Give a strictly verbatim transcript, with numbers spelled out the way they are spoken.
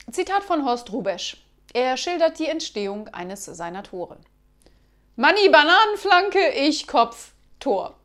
Zitat von Horst Hrubesch. Er schildert die Entstehung eines seiner Tore. Manni Bananenflanke, ich Kopf, Tor.